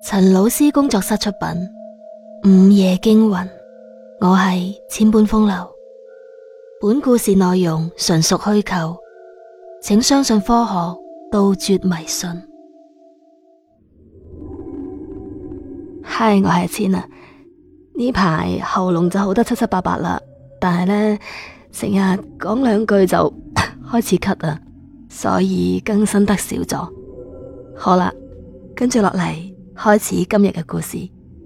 陳老師工作室出品《午夜驚魂》，我係千般風流。本故事內容純屬虛構，請相信科學，杜絕迷信。嗨，我係千啊，呢排喉嚨就好得七七八八啦，但係呢，成日講兩句就開始咳啊，所以更新得少咗。好啦，跟住落嚟開始今日嘅故事。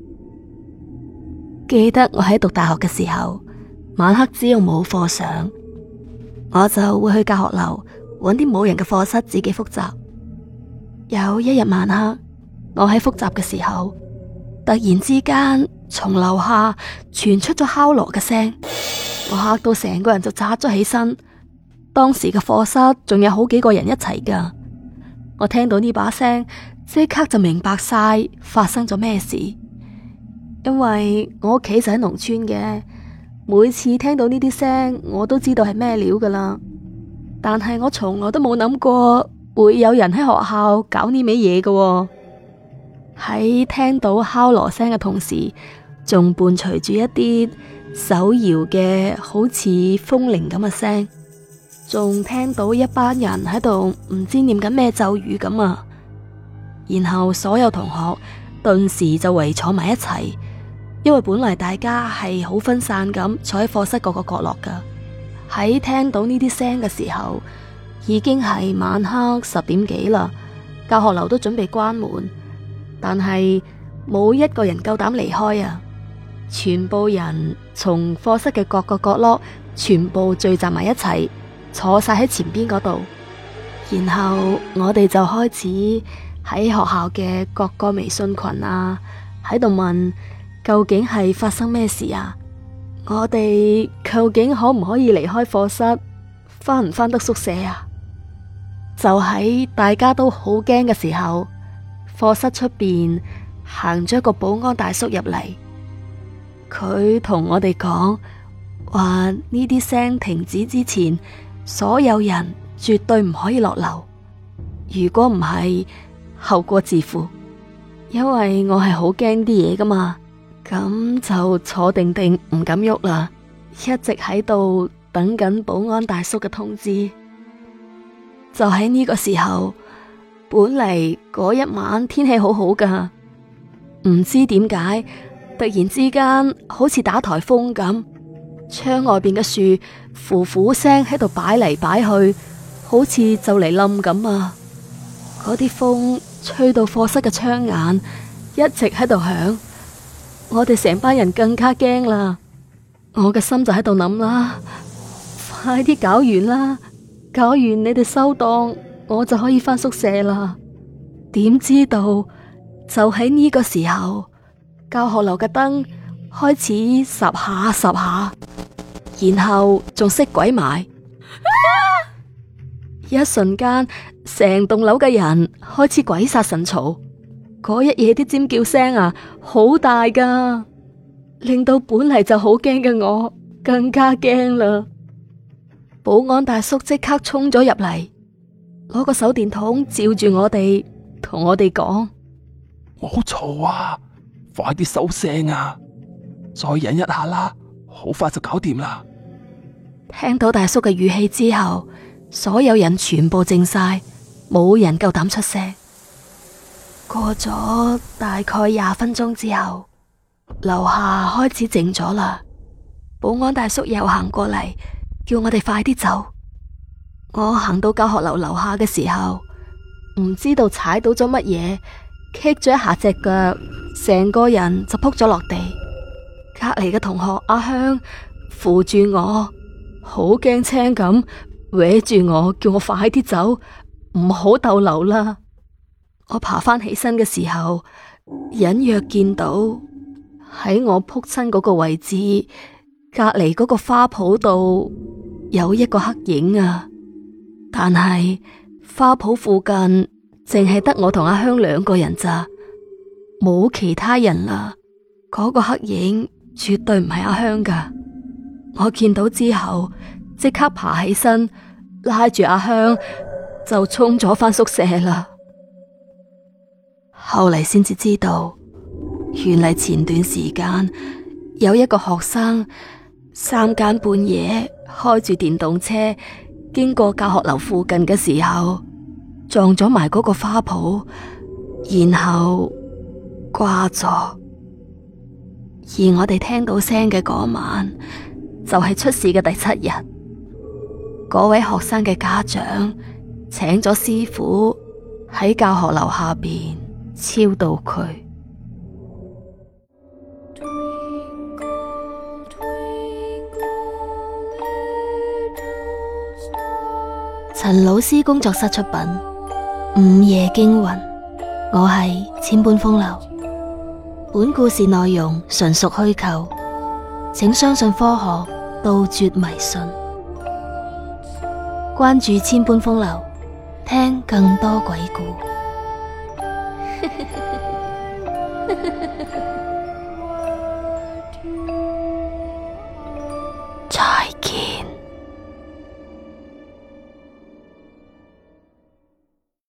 記得我喺讀大學嘅時候，晚黑只要冇課上，我就會去教學樓揾啲冇人嘅課室自己複習。有一日晚黑，我喺複習嘅時候，突然之間從樓下傳出咗敲鑼嘅聲，我嚇到成個人就扎咗起身。當時嘅課室仲有好幾個人一齊噶，我聽到呢把聲，即刻就明白晒發生咗咩事。因為我屋企就喺農村嘅，每次聽到呢啲聲，我都知道係咩料噶啦。但係我從來都冇諗過會有人喺學校搞呢味嘢噶。喺聽到敲鑼聲嘅同時，仲伴隨住一啲手搖嘅好似風鈴咁嘅聲，仲聽到一班人喺度唔知念緊咩咒語咁啊。然後所有同學頓時就圍坐埋一齊，因為本嚟大家係好分散咁坐喺課室各個角落噶。喺聽到呢啲聲嘅時候，已經係晚黑10點幾啦，教學樓都準備關門，但係冇一個人夠膽離開啊！全部人從課室嘅各個角落全部聚集埋一齊，坐晒喺前邊嗰度。然後我哋就開始喺學校嘅各個微信群啊，喺度問究竟係發生咩事啊？我哋究竟可唔可以離開課室，翻唔翻得宿舍啊？就喺大家都好驚嘅時候，課室出邊行咗一個保安大叔入嚟，佢同我哋講話呢啲聲停止之前，所有人絕對唔可以落樓，如果唔係，後果自負。因為我係好驚啲嘢噶嘛，咁就坐定定唔敢喐啦，一直喺度等緊保安大叔嘅通知。就喺呢個時候，本嚟嗰一晚天氣好好噶，唔知點解突然之間好似打颱風咁，窗外邊嘅樹呼呼聲喺度擺嚟擺去，好似就嚟冧咁啊！嗰啲風吹到課室嘅窗眼一直喺度響，我哋成班人更加驚啦。我嘅心就喺度諗啦，快啲搞完啦，搞完你哋收檔，我就可以返宿舍啦。點知道就喺呢個時候，教學樓嘅燈開始十下十下，然後仲熄鬼埋。一瞬間，成棟樓嘅人開始鬼殺神嘈，嗰一夜啲尖叫聲啊，好大噶，令到本嚟就好驚嘅我更加驚啦。保安大叔即刻衝咗入嚟，攞個手電筒照住我哋，同我哋講： 唔好嘈啊，快啲收聲啊，再忍一下啦，好快就搞掂啦。 聽到大叔嘅語氣之後，所有人全部靜晒，冇人夠膽出聲。過咗大概20分鐘之後，樓下開始靜咗啦。保安大叔又行過嚟，叫我哋快啲走。我行到教學樓樓下嘅時候，唔知道踩到咗乜嘢，棘咗一下隻腳，成個人就撲咗落地。隔籬嘅同學阿香扶住我，好驚青咁搲住我，叫我快啲走，唔好逗留啦。我爬翻起身嘅時候，隱約見到喺我撲親嗰個位置，隔籬嗰個花圃度有一個黑影啊。但係花圃附近淨係得我同阿香2個人咋，冇其他人啦。嗰個黑影絕對唔係阿香噶。我見到之後，即刻爬起身，拉住阿香就衝咗返宿舍啦。 後嚟先至知道，原嚟前段時間有一個學生三更半夜開住電動車經過教學樓附近嘅時候，撞咗埋嗰個花圃，然後掛咗。而我哋聽到聲嘅嗰晚，就係出事嘅第7日。嗰位學生嘅家長請咗師傅喺教學樓下邊超度佢。陳老師工作室出品《午夜驚魂》，我係千般風流。本故事內容純屬虛構，請相信科學，杜絕迷信。關注千般風流，聽更多鬼故。